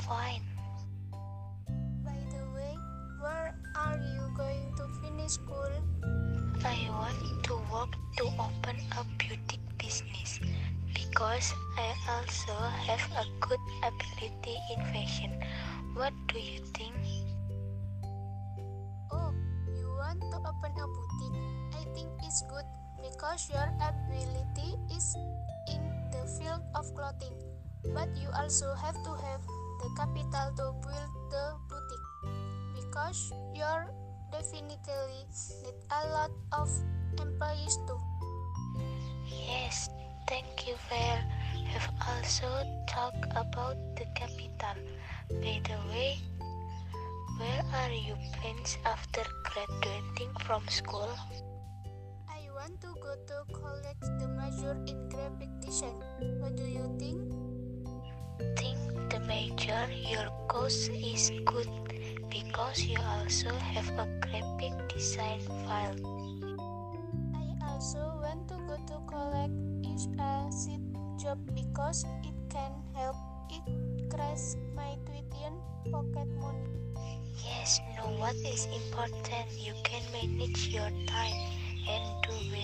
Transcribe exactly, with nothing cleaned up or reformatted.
fine. By the way, where are you going to finish school? I want to work to open a beauty business because I also have a good ability in fashion. What do you think? Oh, you want to open a boutique? I think it's good because your ability is in the field of clothing, but you also have to have the capital to build the boutique because you're definitely need a lot of employees too. Yes, thank you. Fair. Have also talked about the capital. By the way, where are your plans after graduating from school? I want to go to college the major in graphic design. What do you think? Think the major your course is good because you also have a graphic design file. I also want to go to college is a side job because it can help increase my tuition pocket money. Yes, know what is important. You can manage your time and do